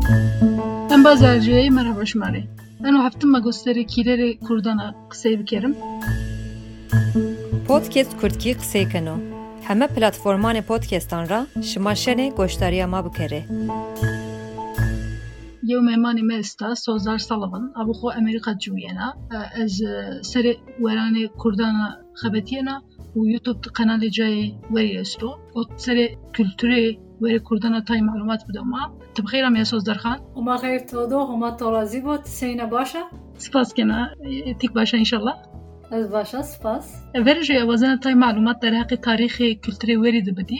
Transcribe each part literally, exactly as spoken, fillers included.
Em bazarcıyı merhaba şumari. Ben o hafta magosteri kileri kurdana kısayı bikerim. Podcast Kurdki kısayı kano. Heme platformane podcastan ra şımaşene goştariya ma bikere. Yew memani me esta Sozar Salavan abu xo Amerika cuyena ez seri werane kurdana xebetiyena u YouTube kanalı cay veri esto o seri kültürü veri kurdana tay malumat budama tebxiram ya Sozar Khan Oma xeyr todo oma tolazi bot seyne başa spas kena tik başa inşallah ez başa spas verje wazana tay malumat der haqi tarihi kültürü veri dibdi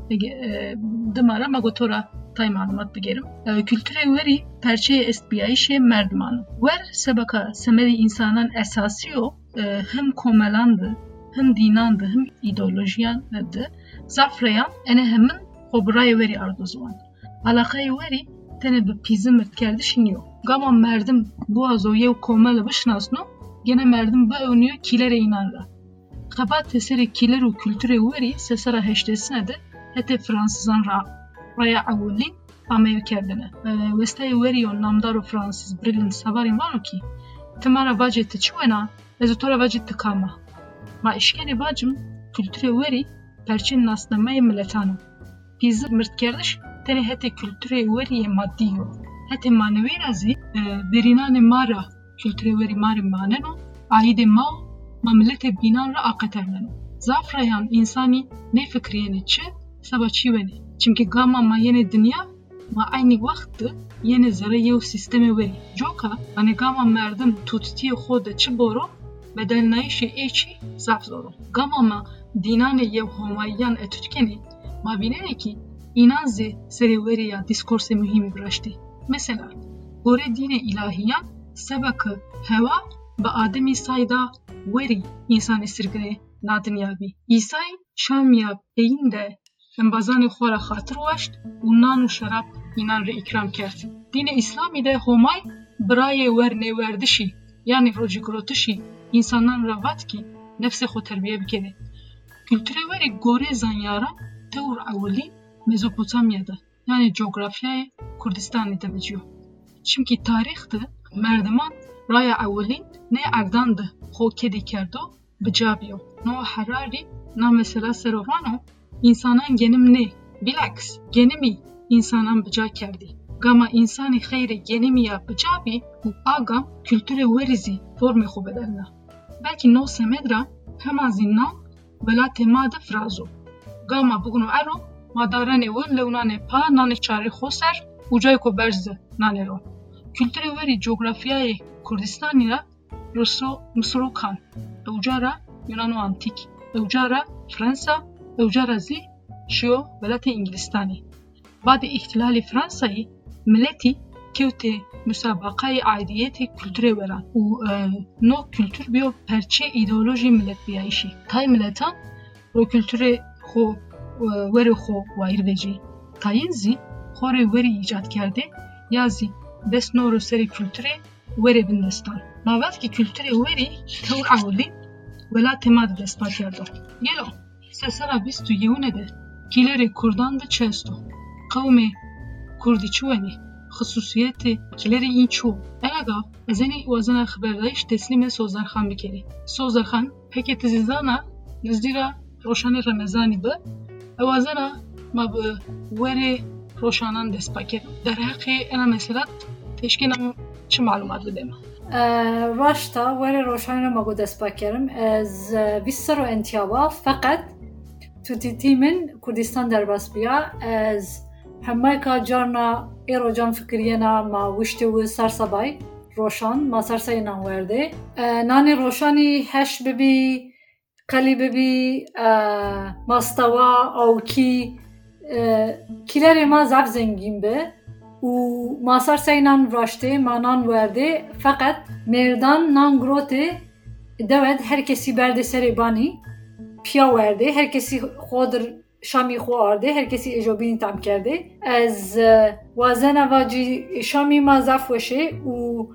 دمارا مگوتورا تای معلومات بگیرم kültüre veri perçe estbiyayişe merdiman ver sebaka semeri insanın esasıyor hem komelandı hem dinandı hem ideolojiyandı zafrayan ene hemin xobraya veri arduzuan alakayı veri tene bir pizim kerdişiniyor gama merdim bu azo yev komele bişnasno gene merdim bu önüyor kilere inanra xabat teseri kiler u kültüre veri sesara heştesine de hete Fransızan ra raya avulin amev kerdine. Vestay veriyon namdaru Fransız brilin savarin vano ki temara vacete çuena ezotora vacete kama. Ma işkeni vacım kültüre veri perçin nasnamay milletano. Piz mirt kerdiş tene hete kültüre veriye maddiyo. Hete manevi razi berinane mara kültüre veri mari maneno aide ma ma millete binan ra aqaterleno. Zafrayan insani ne fikriyeni çi Saba çiveni. Çünkü gama ma yeni dünya ma aynı vakti yeni zara yev sistemi veri. Joka hani gama merdim tuttiği xoda çi boru bedel nayişi eçi zaf zoru. Gama ma dinane yev homayyan etütkeni ma binene ki inanzi seri veri ya diskorse mühimi bıraştı. Mesela gore dine ilahiyan sebakı heva ve ademi sayda veri insan esirgine nadinyabi. İsa'y şamya peyinde Embazane xwara xatir waşt û nan û şerab înan re îkram kerd. Dînê İslamî de homay birayê wer nêwerdişî yanî rojîgirotişî însanan re vat kî nefsê xwe terbiye bikeve. Kültürê werî gorê zanyaran tewr ewilî Mezopotamya'da yani coğrafyayê Kurdistanê de biciyo. Çimkî tarîx de merdiman raya ewilîn ne erdandı xwe kedî kerdo bicabiyo. No Harari na mesela serovano İnsanan genim ne? Bilaks, genimi insanan bıca kerdi. Gama insani xeyre genimi ya bıcabi u agam kültüre verizi forme xo bedelna. Belki no semedra hema zinnan vela temada frazo. Gama bugunu ero madarane vel leunane pa nane çare xoser ucay ko berze nanero. Kültüre veri coğrafyayı Kurdistanira Ruso Mısro kan. Ucara Yunano antik. Ucara Fransa Evcarazi şio velate İngilistani. Badi ihtilali Fransa'yı milleti kevte müsabakayı aidiyeti kültüre veren. U no kültür biyo perçe ideoloji millet biyayişi. Tay milletan o kültüre xo veri xo vair veci. Tayinzi xore veri icat kerde yazi desnoro seri kültüre veri bindestan. Mavat ki kültüre veri tevr avulin velate mad despa kerdo. Gelo. Sesara bistu yevne de kileri kurdan da çesto. Kavmi kurdi çuveni xsusiyeti kileri in çu. Elaga ezeni wazana xberdayiş teslime Sozar Khan bikeri. Sozar Khan peki tizizana nizdira roşani Ramazani be wazana ma be veri roşanan despaker. Der haqi ana mesela teşkinam çi malumat bedem. راشتا ولی روشانی رو مگو دست بکرم از بیست رو انتیابا فقط تو تیمن کردستان در بس بیا از همه که جارنا ایرو جان فکرینا ما وشتی و سرسبای روشان ما سرسای نانورده نانی روشانی هش ببی قلی ببی ماستوا او کی کلری ما زب زنگین به و ماسر سینان راشته مانان ورده فقط مردان نان گروته دوید هر کسی برده سری بانی پیا ورده هر کسی خودر شامی خوارده هر کسی اجابینی تام کرده از وازن واجی شامی ما زفوشه و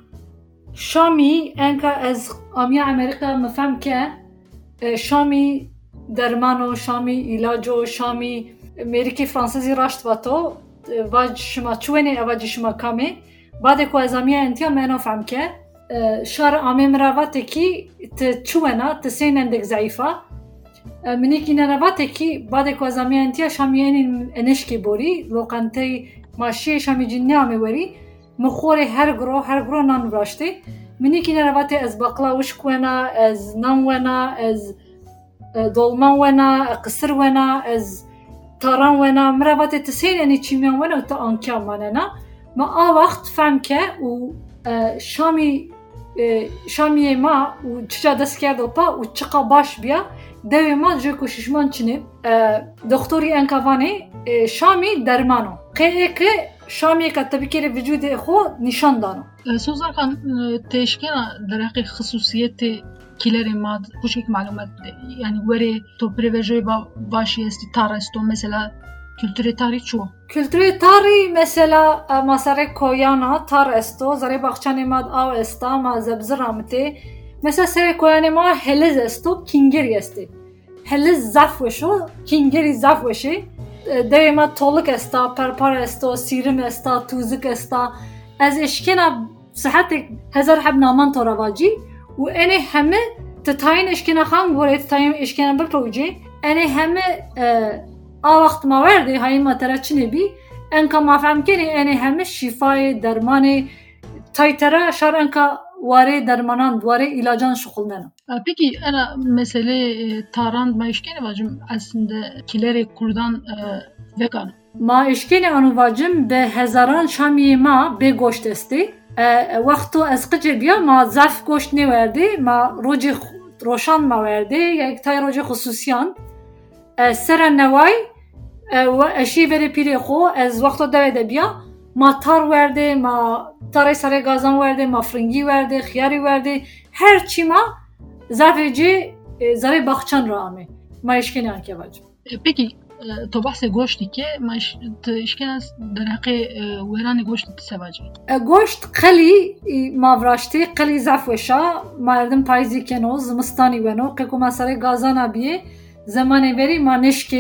شامی انکا از آمیا امریکا مفهم که شامی درمان و شامی علاج و شامی امریکی فرانسیزی راشت با تو واج شما چونه واج شما کامه بعد کو ازامیه انتیا منو فهم که شار آمه مراواته کی تچونه تسین اندک ضعیفه منی کی نراواته کی بعد کو ازامیه انتیا شامیین انشکی بوری لوقانتی ماشی شامی جنیامه وری مخوره هر گرو هر گرو نان براشته منی کی نراواته از باقلا وش کونا از نان ونا از دولمان ونا قصر ونا از تاران ونا مراواته تسین انی چیمیان ونا تا آنکیا ماننا ما آ وقت فهم که و شامی شامی ما و چجا دست کرد و پا و چقا باش بیا دوی ما جو کششمان چنه دکتری انکوانه شامی درمانو قیه که شامی که tabii ki vücudu خو نشان دانو سوزان خان تشکیل در حق خصوصیت kileri mad bu şekilde malumat yani veri to prevejoy başı esti tarasto mesela kültürü tarih çu kültürü tarih mesela masare koyana tarasto zare bakçane mad av esta ma zebzramte mesela sere koyane ma heliz esto kingeri esti heliz zafweşo kingeri zafweşi devema toluk esta perpar esto sirim esta tuzuk esta az eşkena sıhhatek hazar habna man toravaci و اینه همه تتاین اشکنا خان بوره تتاین اشکنا بپروجی اینه همه آ وقت ما ورده های ما ترا چنه بی انکا ما فهم کنی اینه همه شفای درمانی تای ترا شار انکا واره درمانان واره ilacان şokul nena. Peki ana mesele taran ma işkene vacım aslında kileri kurdan vegan. Ma işkene anu vacım be hezaran şamiye ma be goşt esti. وقتو از قجه بیا ما ظرف گوشت نورده ما روج روشان ما ورده یک تای روج خصوصیان سر نوای و اشی وری پیری خو از وقتو دویده بیا ما تار ورده ما تاری سر گازان ورده ما فرنگی ورده خیاری ورده هر چی ما ظرف جه زره باخچان را آمه ما اشکنی آنکه واجب. Peki تو بحث گوشتی که ماش اشکال از در حق ویران گوشت تسواجی گوشت قلی ماوراشتی قلی زفوشا مردم پایزی کنو زمستانی ونو که کو مسئله گازانا بیه زمانی بری ما نشکی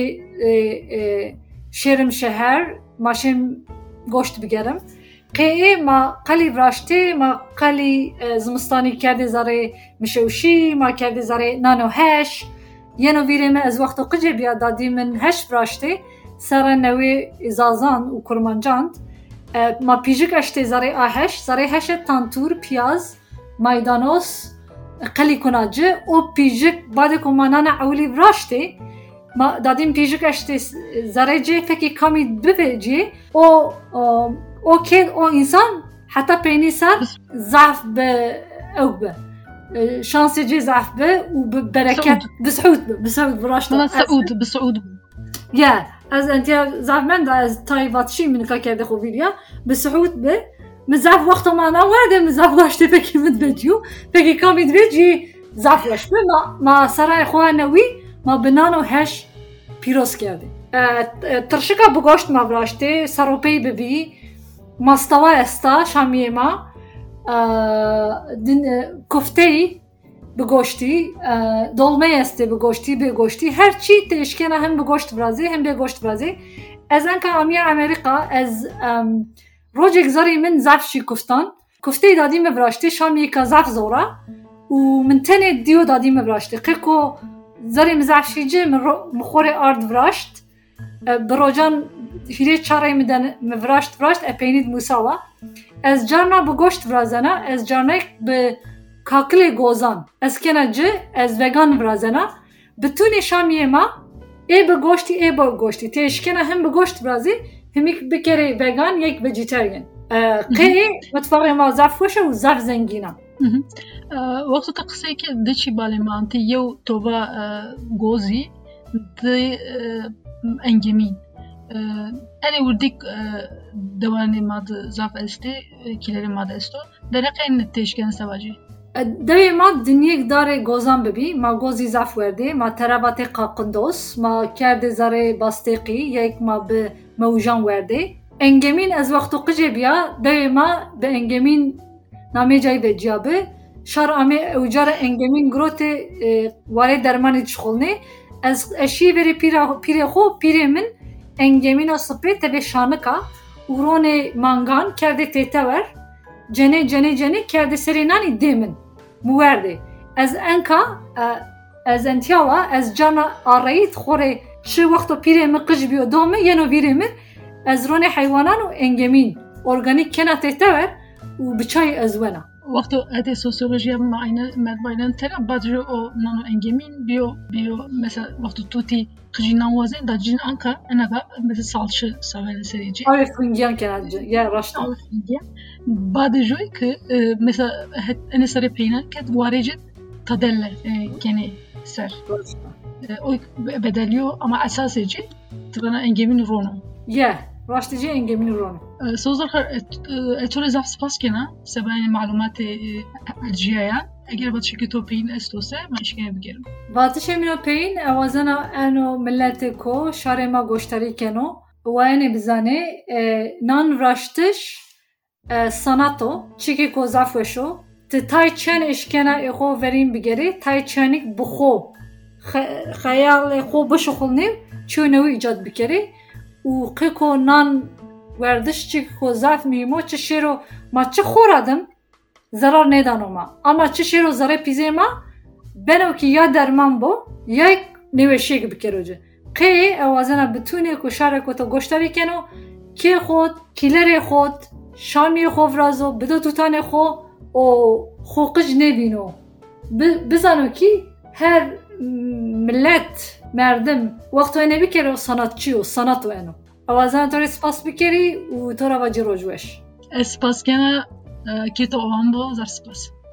شیرم شهر ماشین گوشت بگیرم که ما قلی وراشتی ما قلی زمستانی کرده زاره مشوشی ما کرده زاره نانو هش یه نویرمه از وقت قجه بیاد دادی من هش براشته سر نوی ازازان و کرمانجاند ما پیجک اشته زره آهش زره هش تانتور پیاز مایدانوس قلی کناجه و پیجک بعد کمانان عولی براشته ما دادیم پیجک اشته زره جه فکی کمی ببجه و او که او انسان حتی پینی سر ضعف به او به شانس جي زعف به وبركات بسعود بسعود براشته سعود بسعود يا از انت زعف من از تايفاتشي من كاكا دخو فيديا بسعود به مزعف وقت ما انا وارد مزعف واشته بكي من فيديو بكي كاميد فيديو زعف واش ما ما سراي خوانوي ما بنانو هش بيروس كردي ترشكا بغوشت ما براشته سروبي ببي ماستوا استا شاميه ما کوفته‌ای به گوشتی دلمه است به گوشتی به گوشتی هر چی تشکنه هم به گوشت برازی هم به گوشت برازی از انکه آمیا امریکا از روزی گذاری من زفشی کوفتان کوفته دادیم براشتی شامی که زف زورا و من تنه دیو دادیم براشتی که زاری مزفشی جه مخور آرد براشت بروجان هیچ چاره میدن مفراشت براشت اپینید موساوا از جارنا به گوشت برازنا از جارنا به کاکل گوزان از کنجه از وگان برازنا بتونی شامیه ما ای به گوشتی ای به گوشتی تشکنه هم به گوشت برازی هم یک بکره وگان یک ویجیتریان قی متفاقی ما زف وشه و زف زنگینا وقت تقصی که دچی بالمانتی یو توبا گوزی دی انگمین أنا ورديك دواني ماد زاف استي كيلري ماد استو درقة إن التشكين سواجي دوی ما دنیک داره گوزان ببی ما گوزی زاف ورده ما ترابط قاقندوس ما کرده زاره باستقی یک ما به موجان ورده انگمین از وقتو قجه بیا دوی ما به انگمین نامه جای به جیابه شار آمه اوجار انگمین گروت واره درمانی چخولنه از اشی بری پیره خو پیره من engemina spray tebe şanıka urone mangan kerde tetever cene cene cene kerde serinani demin muverdi az enka az entiava az cana arayit khore şu vakto pire mi qıjbiyo dome yeno viremir az rone hayvanan u engemin organik kena tetever u biçay azwana وقتی ات سوسیولوژی معاینه مدبایلن ترا بدر او نانو انگمین بیو بیو مثلا وقتی توتی خجینان وزن دا جین انکا انا مثلا salçı seven serici. Arif Hüngiyan kenarcı ya raşta. Arif Hüngiyan. Badı joy ki mesela ene sare peyna ket varece tadelle gene ser. O bedeliyor ama esasıcı tıbana engemin rono. Ya راشتجي انجمين رون سوزر اتول زاف سپاس کنا سباین معلومات الجیایا اگر بات شکی تو پین استوسه من اشکنه بگیرم باتش امینو پین اوازنا انو ملت کو شاره ما گوشتاری کنو و اینه بزانه نان راشتش ساناتو چیکی کو زافوشو تی تای چن اشکنه اخو ورین بگیری تای چنیک بخو خیال خو بشخلنیم چونوی ایجاد بگیری و قیکو نان وردش چی کو زاف میمو چه شیرو ما چه خوردم zarar nedanoma ama çi şero zare pizema beno ki ya derman bo ya neveşe gibi keroje qe awazana bütune ko şare ko to goştari keno ki xod kilere xod şami xovrazo bido tutane xo o xoqij nebino bizano ki her millet merdim vaqto ene bir kere sanatçı o sanat o eno awazana tore spas bikeri u tora vajirojwesh spas kena ki to ovan bo zar spas